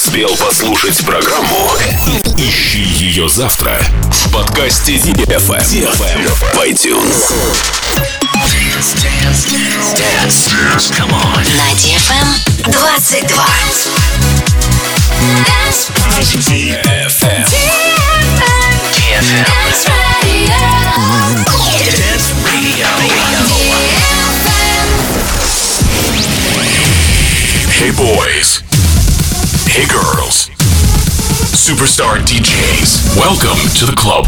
успел послушать программу, ищи ее завтра в подкасте DFM в iTunes. Dance. Come on. На DFM 22. DFM. Dance Radio. Dance Radio. Hey boys. Hey girls. Superstar DJs. Welcome to the club.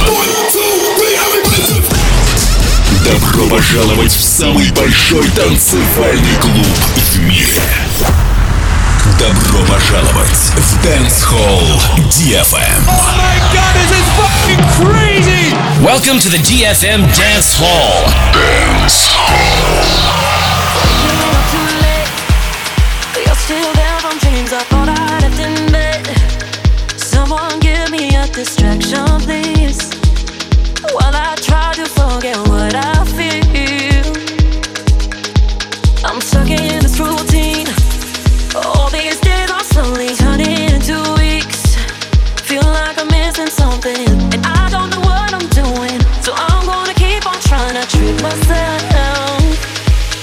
Добро пожаловать в самый большой танцевальный клуб в мире. Добро пожаловать в Dance Hall DFM. Oh my god, this is fucking crazy! Welcome to the DFM Dance Hall. Dance You're still there from dreams I thought I left in bed. Someone give me a distraction, please, while I try to forget what I feel. I'm stuck in this routine. All these days are slowly turning into weeks. Feel like I'm missing something, and I don't know what I'm doing. So I'm gonna keep on trying to trick myself.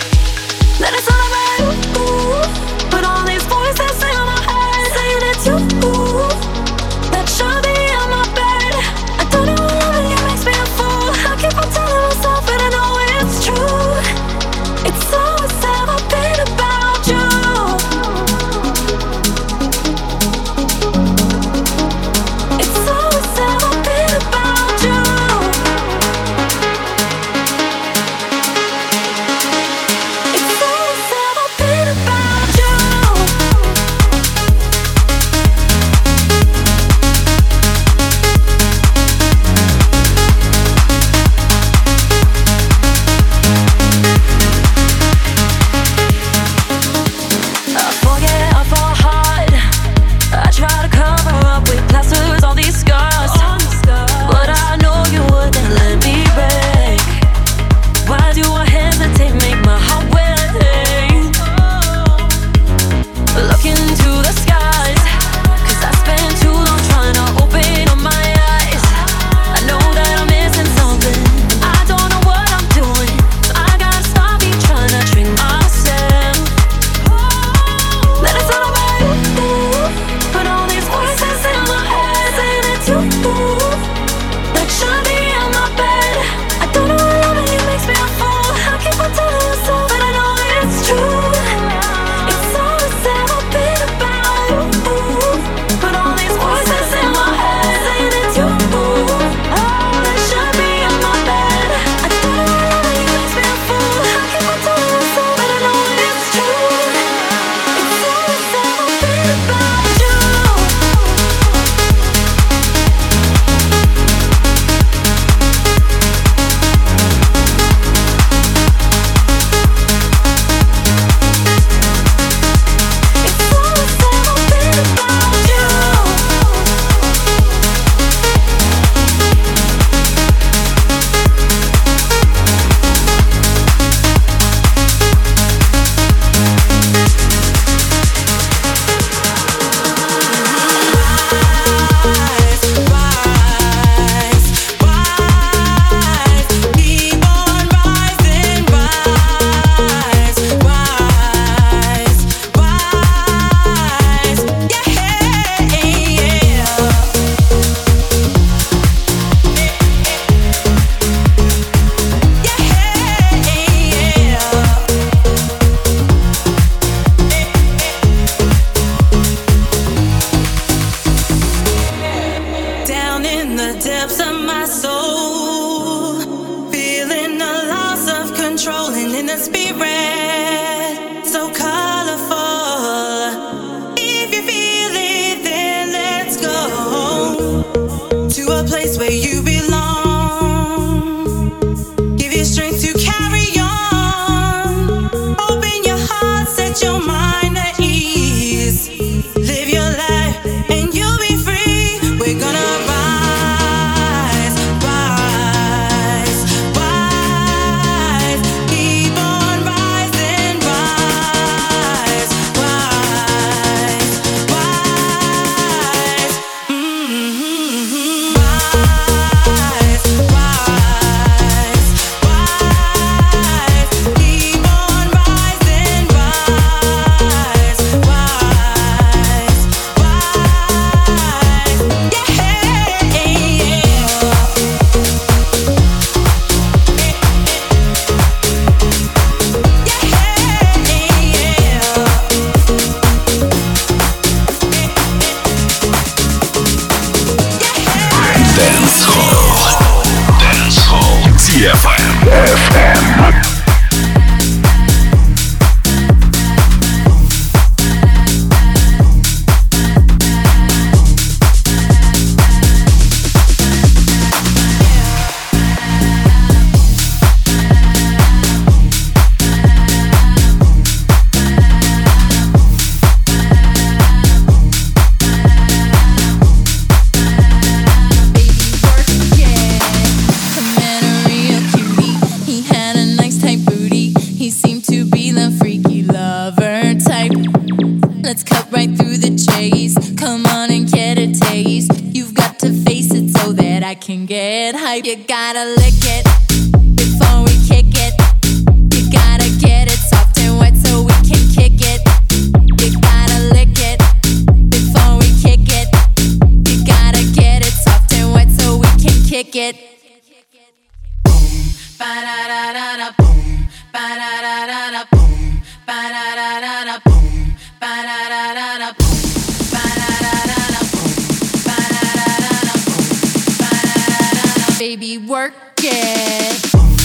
be the freaky lover type. Let's cut right through the chase. Come on and get a taste. You've got to face it so that I can get hype. You gotta lick it before we kick it. You gotta get it soft and wet so we can kick it. You gotta lick it before we kick it. You gotta get it soft and wet so we can kick it. Boom, ba-da-da-da-da, boom, ba-da-da-da-da, boom, ba-da-da-da-da, boom, ba-da-da-da-da, boom, ba-da-da-da-da, boom, ba-da-da-da-da, boom, ba-da-da-da-da. Baby, work it.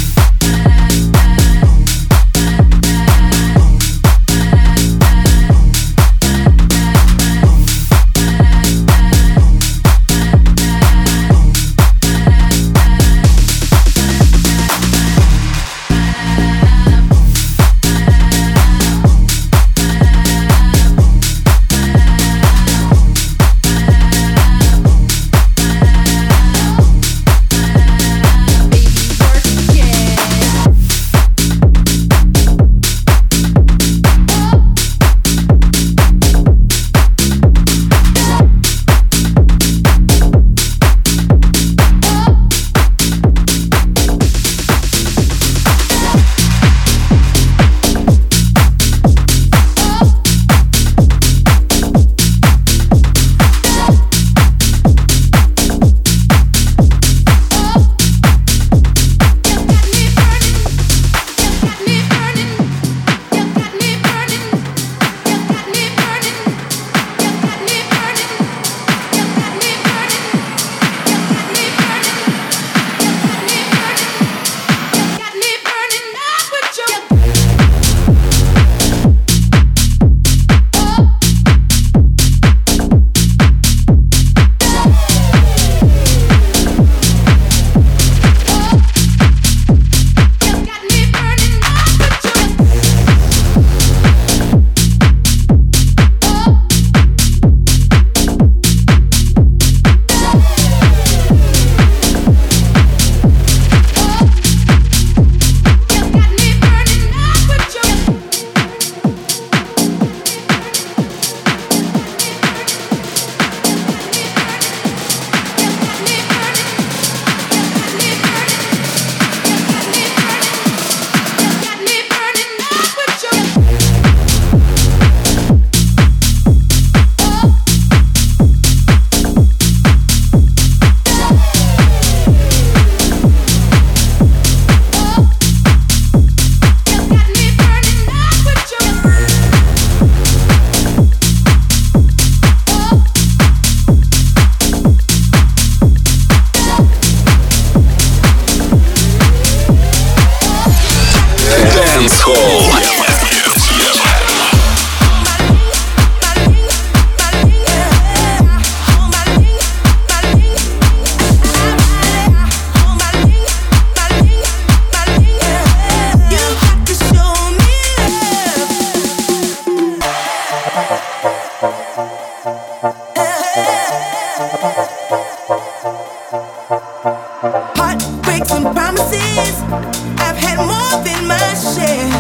Heartbreaks and promises, I've had more than my share.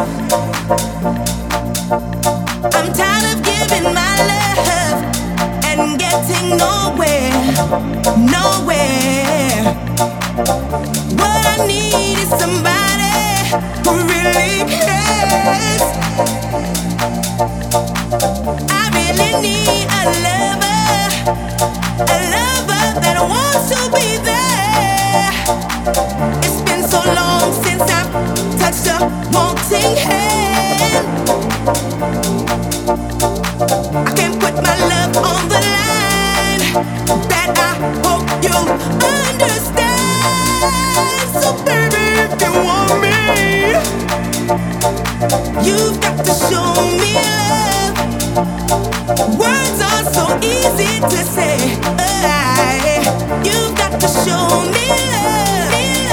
I'm tired of giving my love and getting nowhere, nowhere. What I need is somebody who really cares. I really need a lover that wants to be there. It's been so long since I've touched a wanting hand. I can't put my love on the line. That I hope you'll understand. So baby, if you want me, you've got to show me love. Words are so easy to say. You've got to show me love.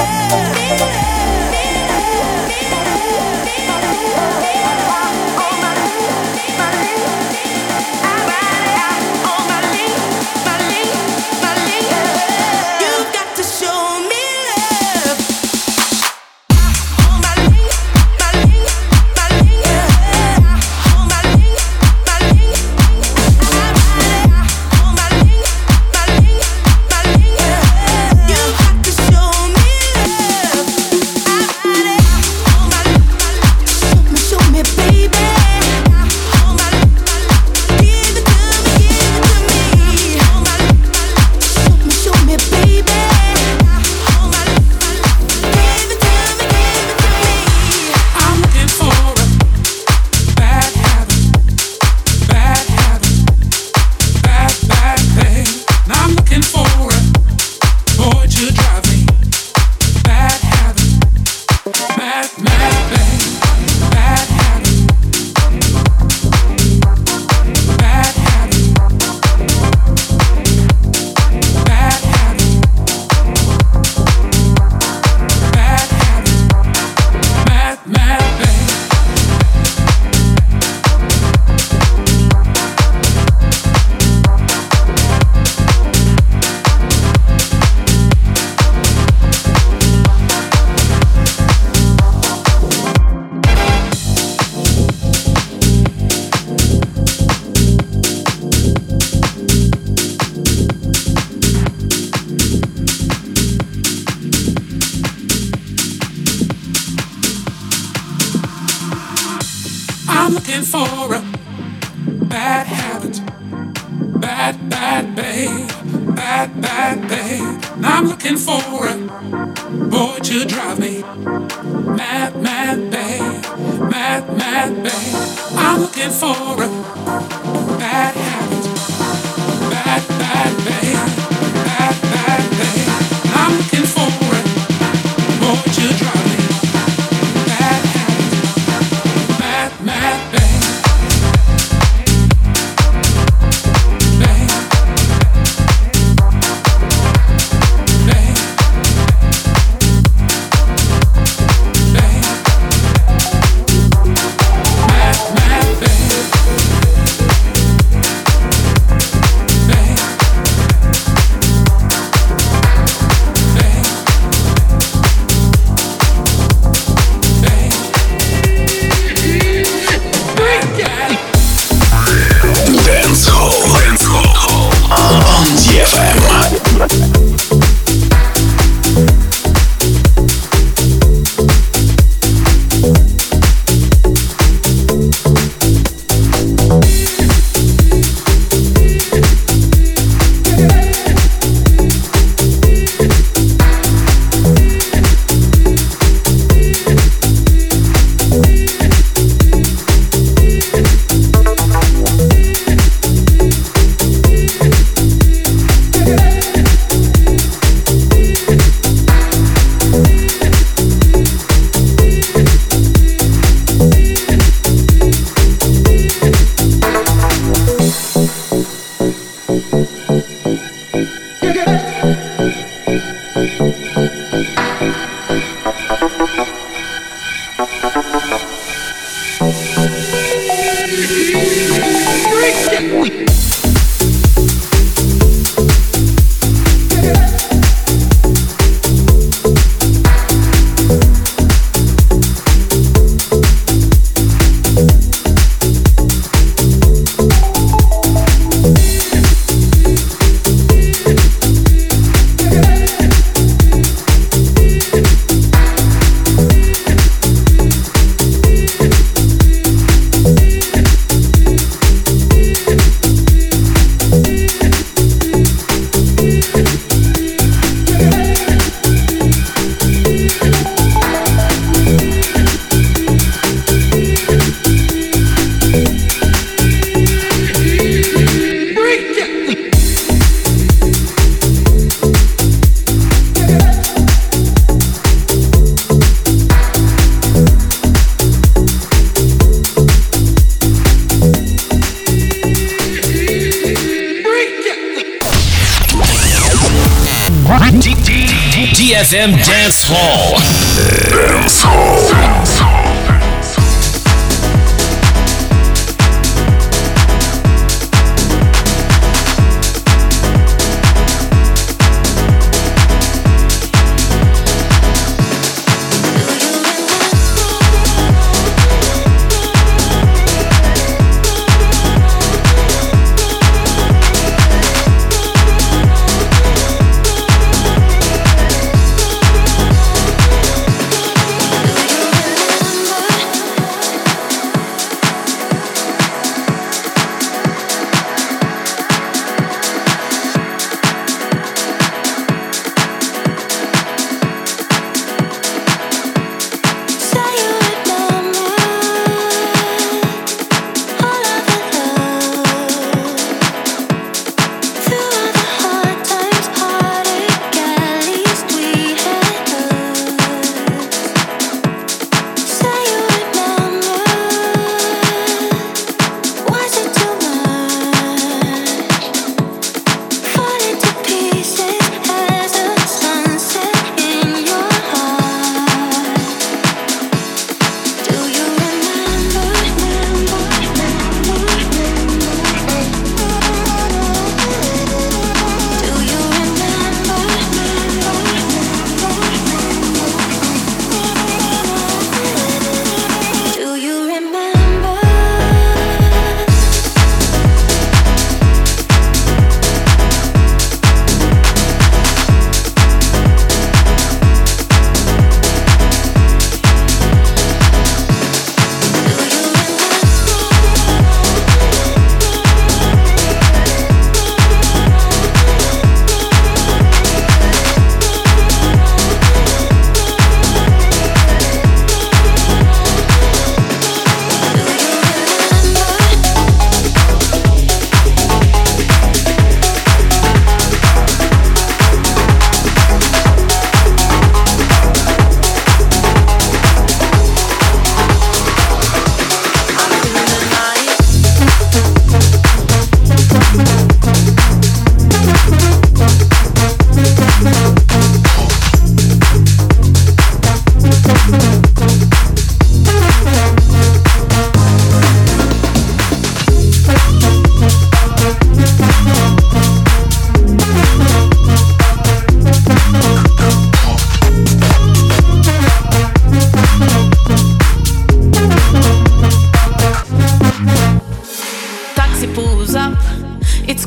You've got to show me love. I'm looking for a bad habit. Bad, bad babe. Bad, bad babe. I'm looking for a boy to drive me mad, mad babe. Mad, mad babe. I'm looking for a bad habit. Bad, bad babe. Bad, bad babe. I'm looking for a boy to drive me mad habit. Mad, mad babe. Babe. Babe. Babe. Mad, mad babe. Babe. Dance Hall on DFM. DFM Dance Hall. Dance Hall.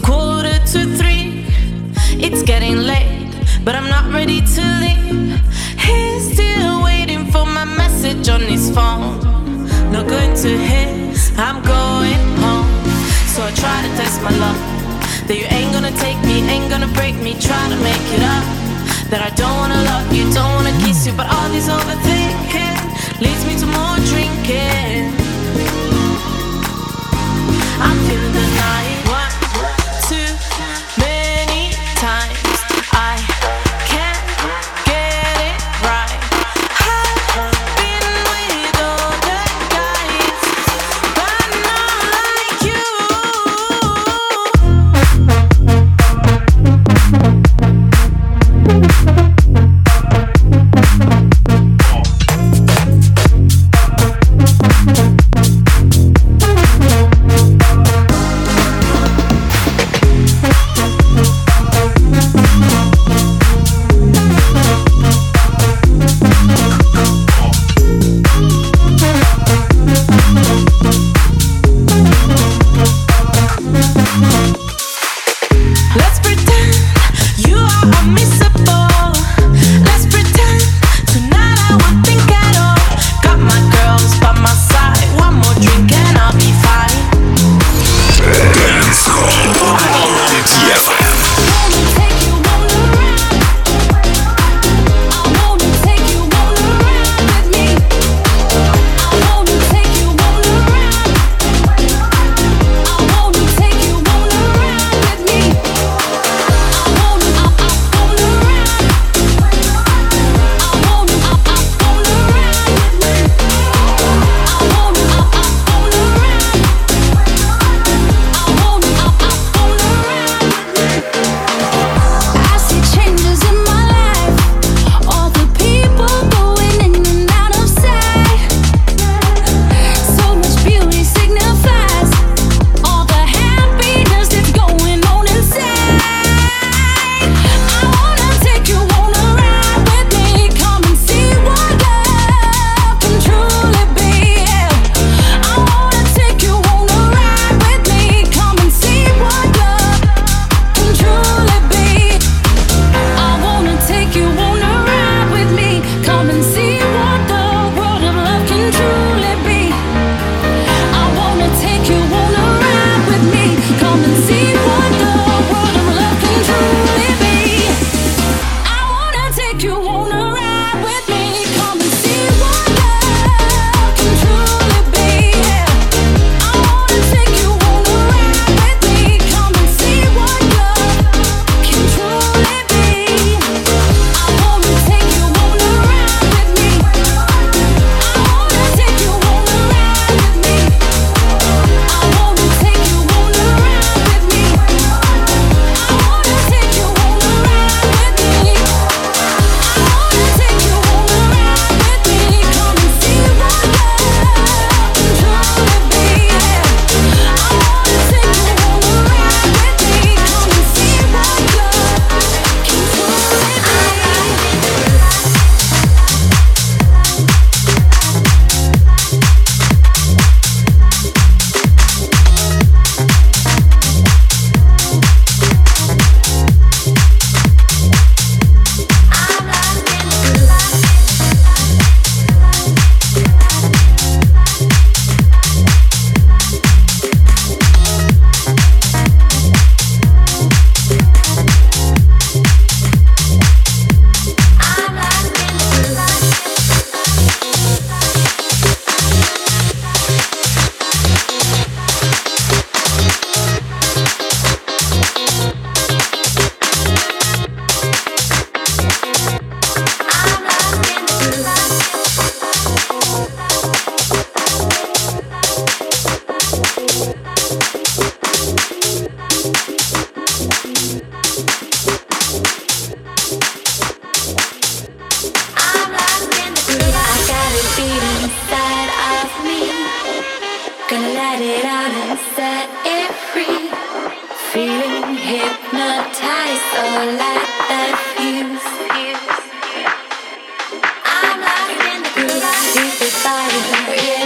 2:45. It's getting late, but I'm not ready to leave. He's still waiting for my message on his phone. Not going to his, I'm going home. So I try to test my luck, that you ain't gonna take me, ain't gonna break me. Try to make it up, that I don't wanna love you, don't wanna kiss you. But all this overthinking leads me to more drinking. I'm feeling the night. 1, 2, many times I can't get it right. I've been with other guys, but not like you. Let's pretend you are unmissable. Let's pretend tonight I won't think at all. Got my girls by my side. One more drink and I'll be fine. Dance Hall. DFM.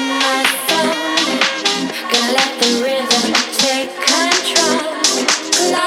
Fire in my soul. Gonna let the rhythm take control.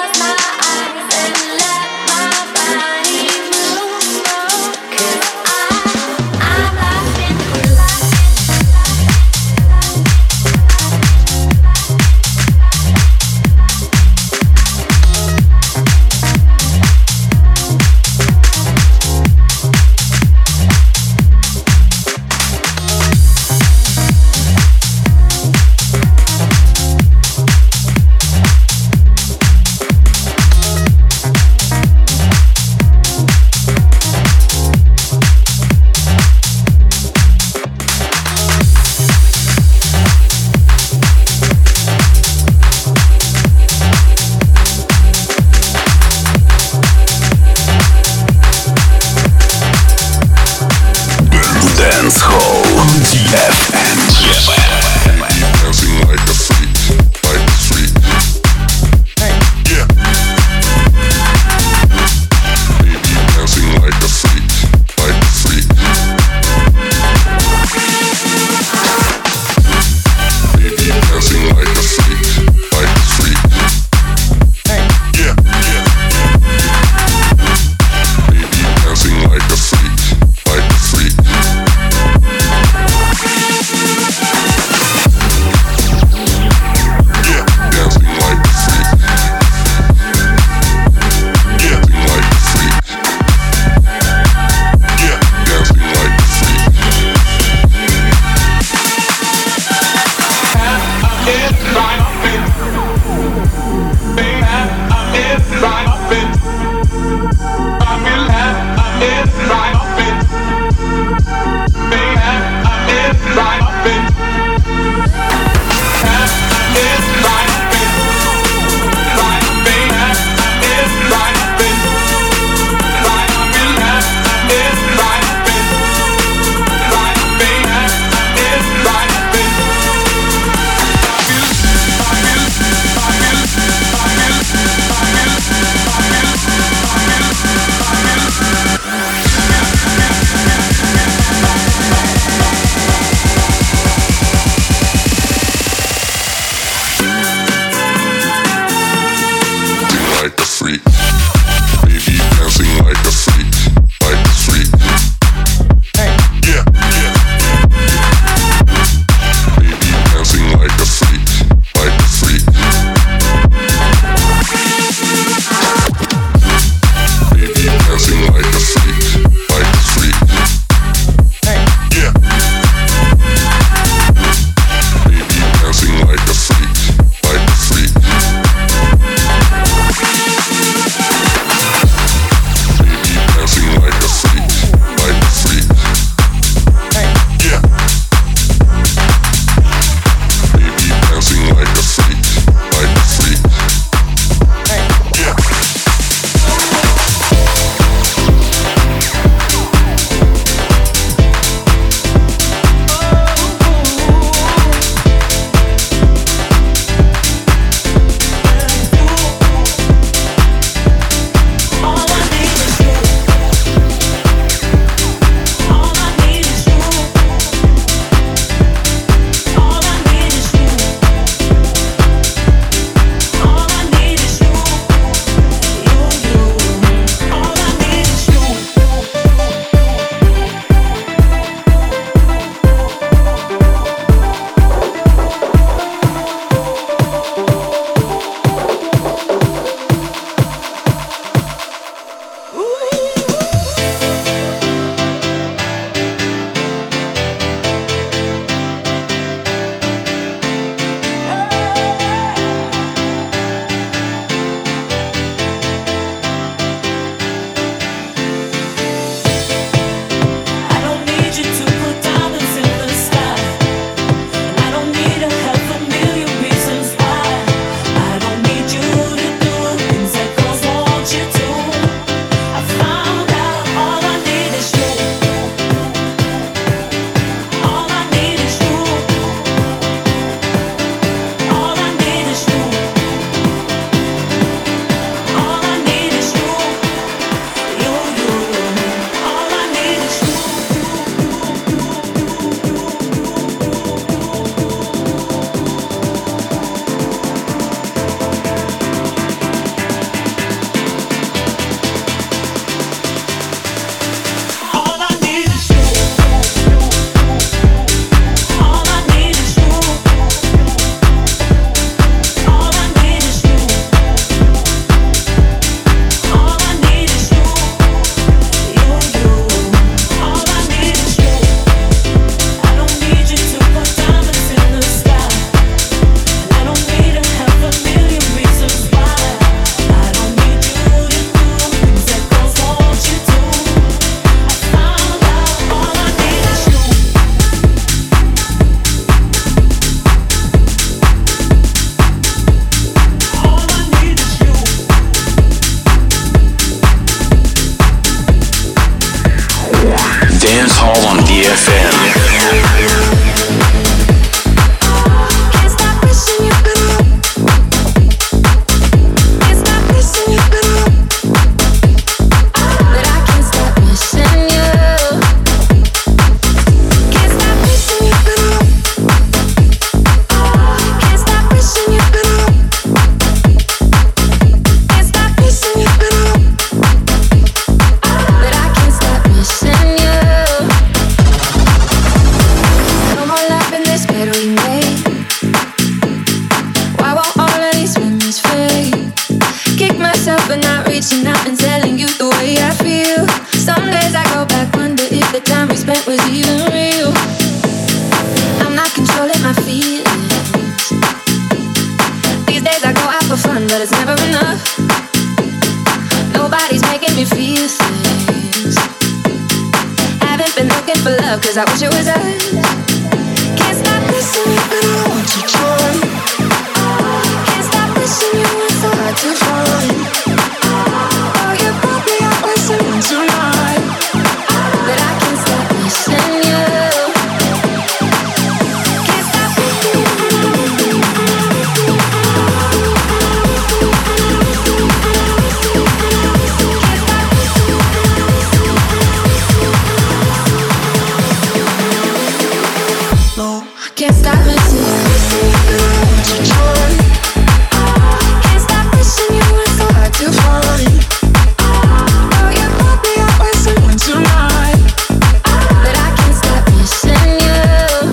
and I've been telling you the way I feel. Some days I go back, wonder if the time we spent was even real. I'm not controlling my feelings. These days I go out for fun, but it's never enough. Nobody's making me feel things. Haven't been looking for love, cause I wish it was us. Can't stop missing you, but I want you joy. Can't stop wishing you were so hard to find. Oh, you brought me out listening tonight, but I can't stop missing you. Can't stop missing you. Can't stop missing you. Can't stop wishing you were so hard to find. Oh, you brought me out listening tonight, but I can't stop missing you.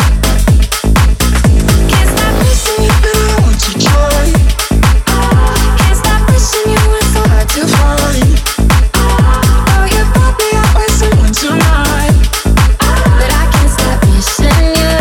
Can't stop missing you, but I want your joy. Can't stop wishing you were so hard to find. Oh, you brought me out listening tonight, but I can't stop missing you.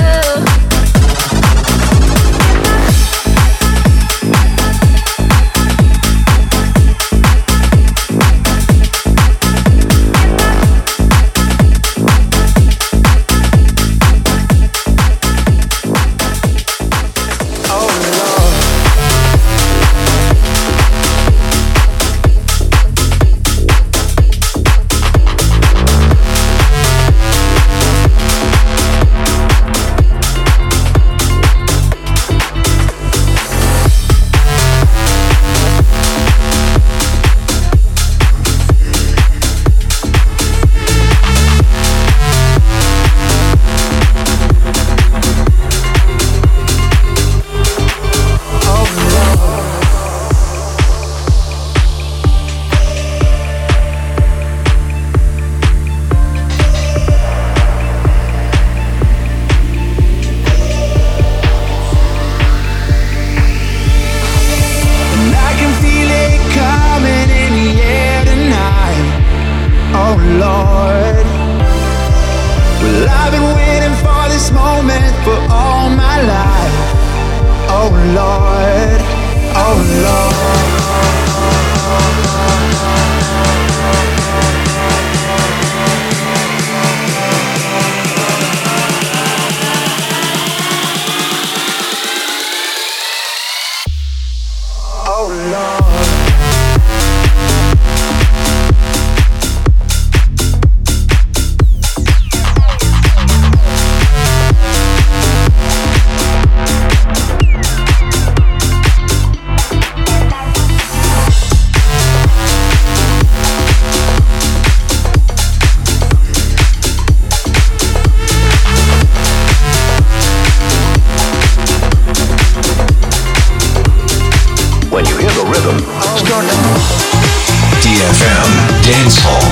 DFM Dance Hall.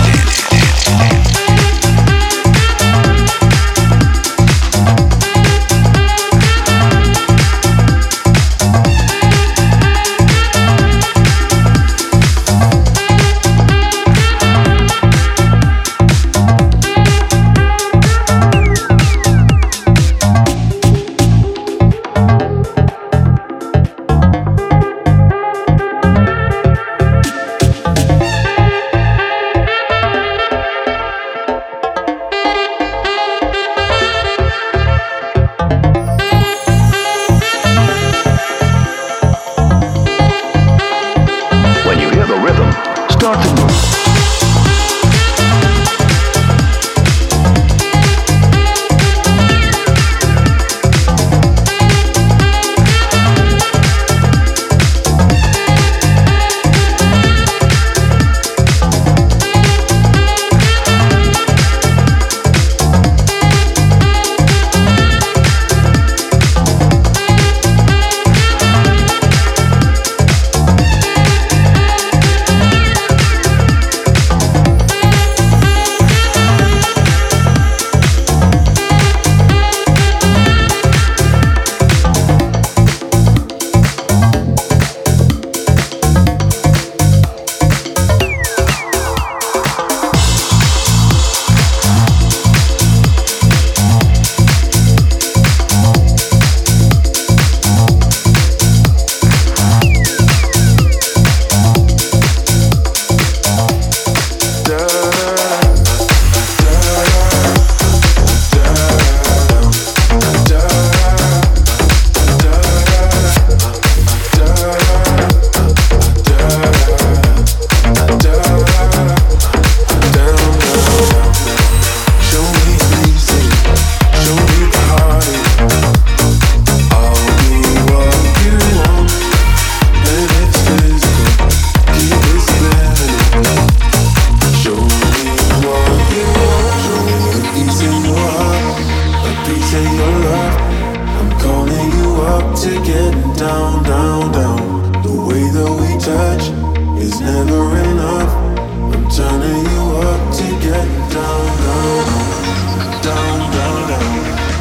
getting down, down, down. The way that we touch is never enough. I'm turning you up to getting down, down, down, down, down, down.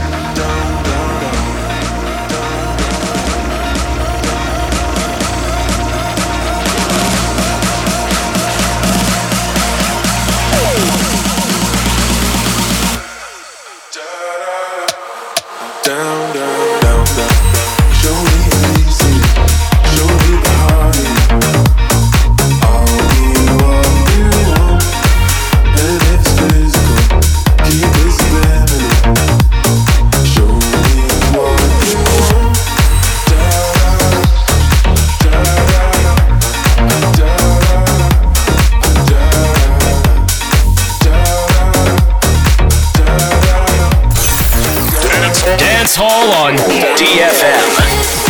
Down, down, down, down. Show me easy, show me body. I'll be what you want, and it's physical. Keep it subliminal. Show me what you want. Dance Hall on DFM.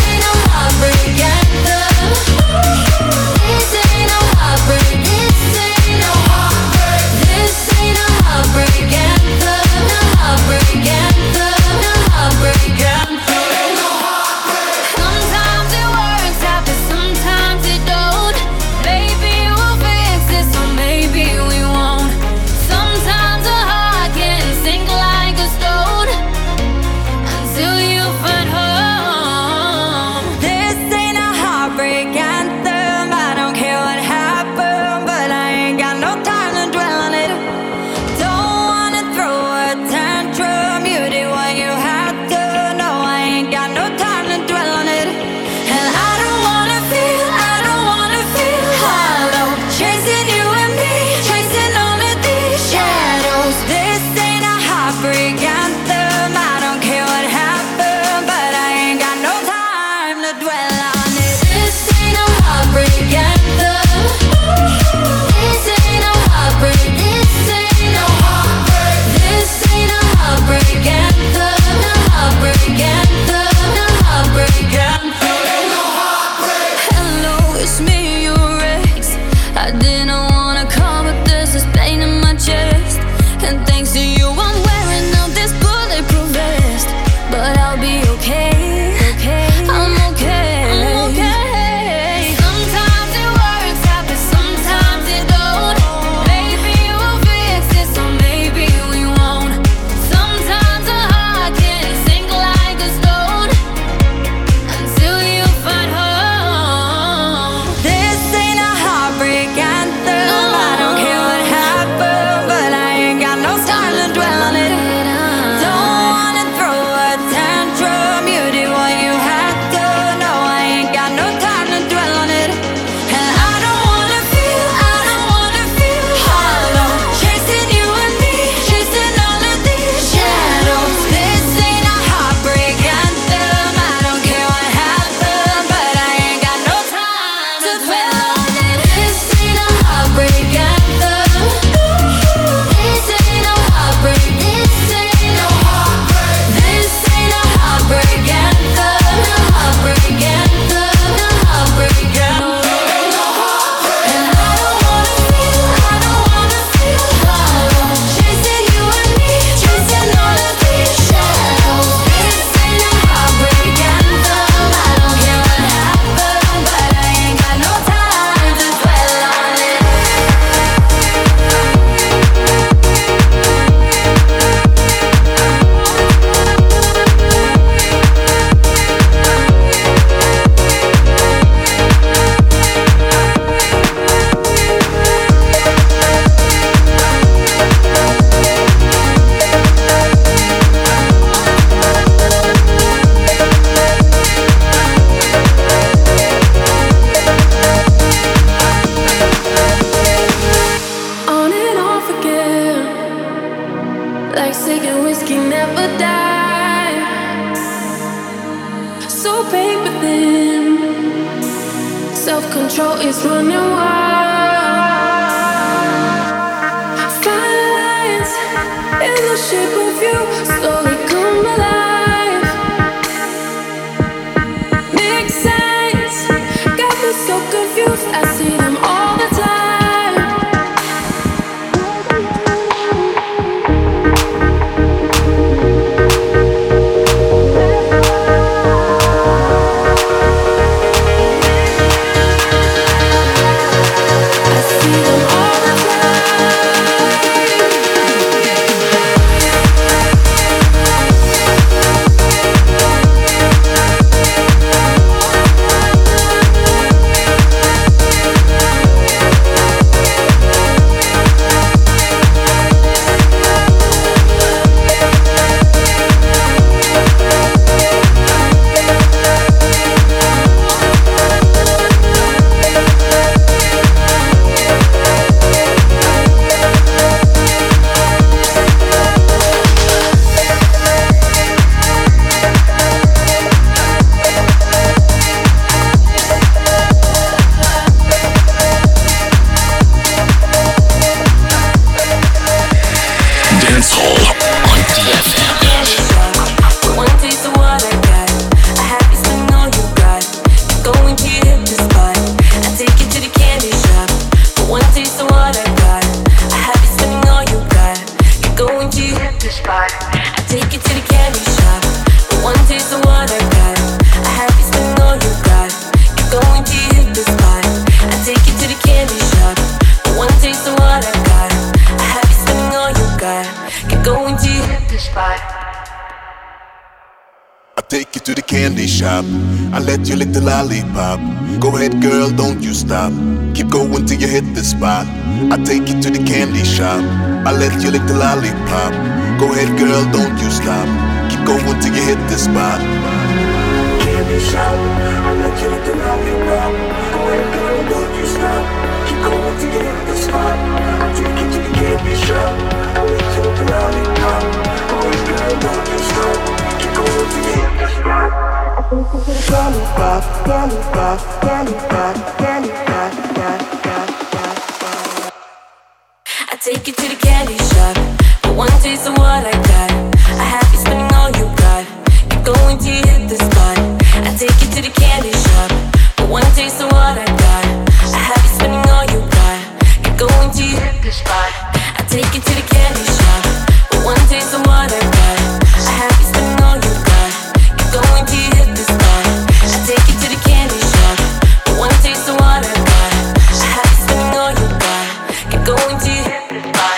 Self-control is running wild. Fine lines in the shape of you slowly come alive. Make sense, got me so confused. I see them all the time. take you to the candy shop. I let you lick the lollipop. Go ahead, girl, don't you stop. Keep going till you hit the spot. I take you to the candy shop. I let you lick the lollipop. Go ahead, girl, don't you stop. Keep going till you hit the spot. Candy shop. I let you lick the lollipop. Go ahead, girl, don't you stop. Keep going till you hit the spot. I take you to the candy shop. I let you lick the lollipop. Go ahead, girl, don't you stop. Keep going till you hit the spot. Candy pop, candy pop, candy pop, candy pop, I take you to the candy shop. For one taste of what I got, I have you spending all you got. Keep going till you hit the spot. I take you to the candy shop. For one taste of what I got, I have you spending all you got. Keep going till you hit the spot. I take you to the candy shop. For one taste of what I got, I have you spending all you got. Keep going till you hit the spot. I take you to the candy shop. For one taste of what I got, I have you spending all you got. Keep going till you hit the spot.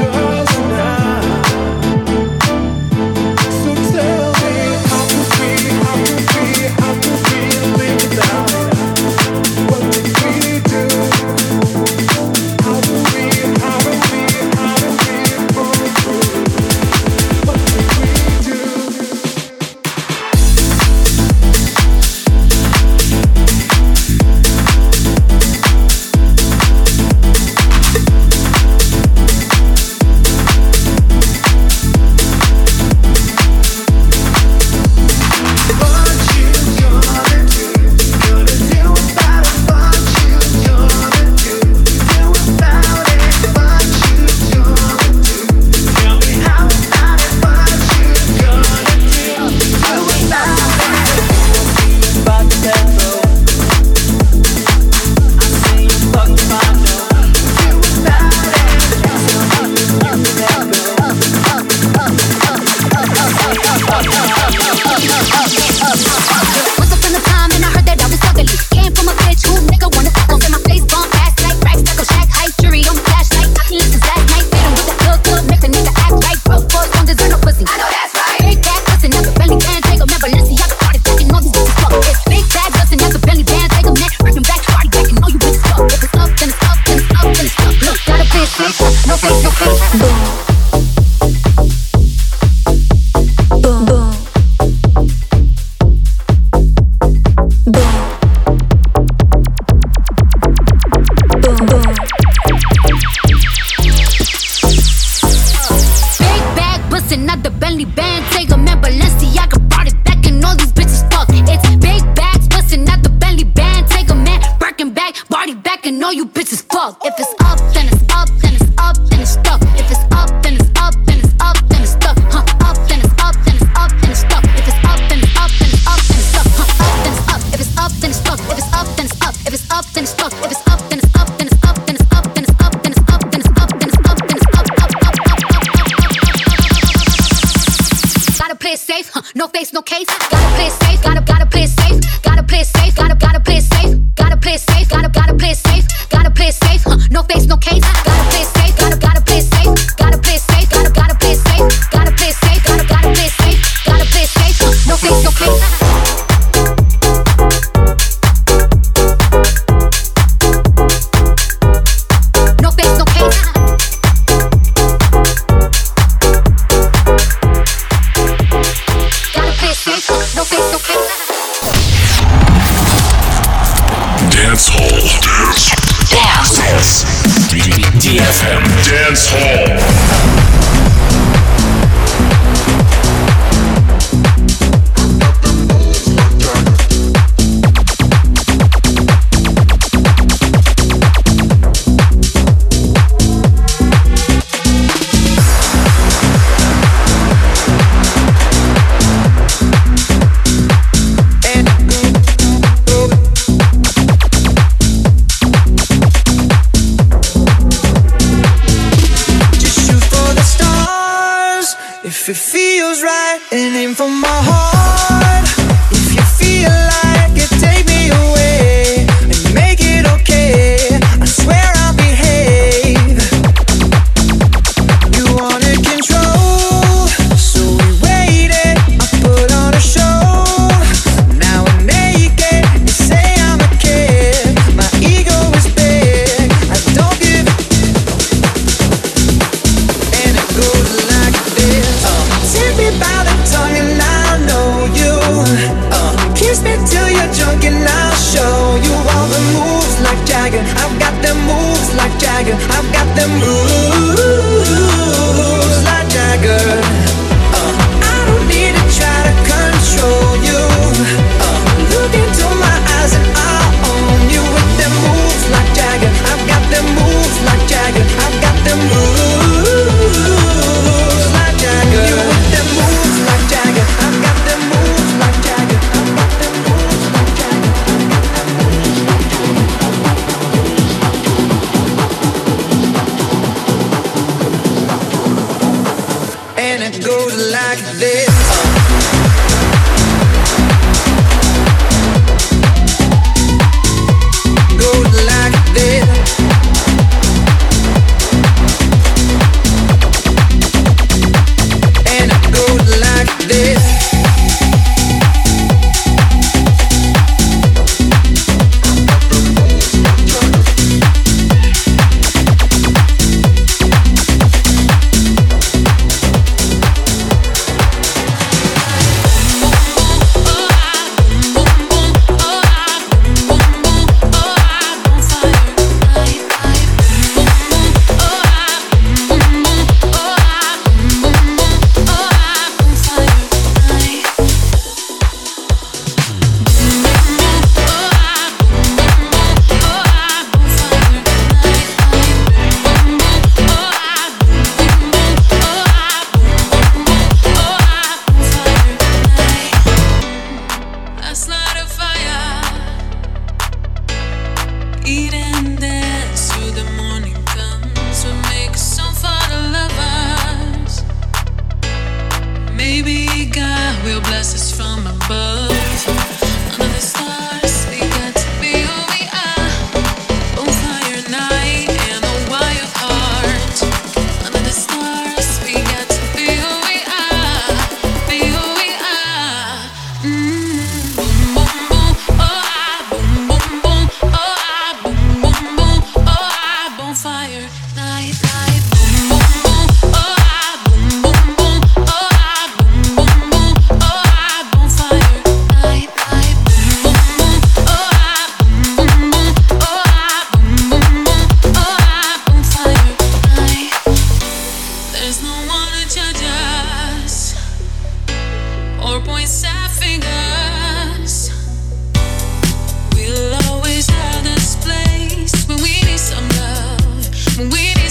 So tell me how could we up, then it's up, then it's up, then it's stuck. If it's up, then it's up, then it's up, then it's stuck. Up, then it's up, then it's up, then it's stuck. If it's up, then it's up, then it's up, then it's stuck. Up, then it's up. If it's up, then it's stuck. If it's up, then it's up. If it's up, then it's stuck. If it's up, then it's up, then it's up, then it's up, then it's up, then it's up, then it's up, then it's up, then it's up, Gotta play it safe, no face, no case. Gotta play it safe, gotta play it safe. Gotta play it safe, gotta play it safe. Gotta play it safe, gotta play it safe. Gotta play it safe, no face, no case. Gotta play it safe, gotta play it safe. Gotta play it safe, gotta play it safe. Gotta play it safe, gotta play it safe. Gotta play it safe, no face, no case. DFM Dance Hall. If it feels right and aim for my heart. If you feel like it, take me away and make it okay. I swear I'll behave. You wanted control, so we waited. I put on a show. Now I'm naked. You say I'm a kid. My ego is big. I don't give it. And it goes like this. Take me by the tongue and I'll know you. Kiss me till you're drunk and I'll show you all the moves like Jagger. I've got them moves like Jagger. I've got them moves like Jagger. I don't need to try to control you. Look into my eyes and I'll own you with them moves like Jagger. I've got them moves like Jagger. I've got them moves like Jagger. You with them moves like Jagger. I've got them moves like Jagger. I've got them moves like Jagger. And it goes like this. Goes like this. And it goes like this. We need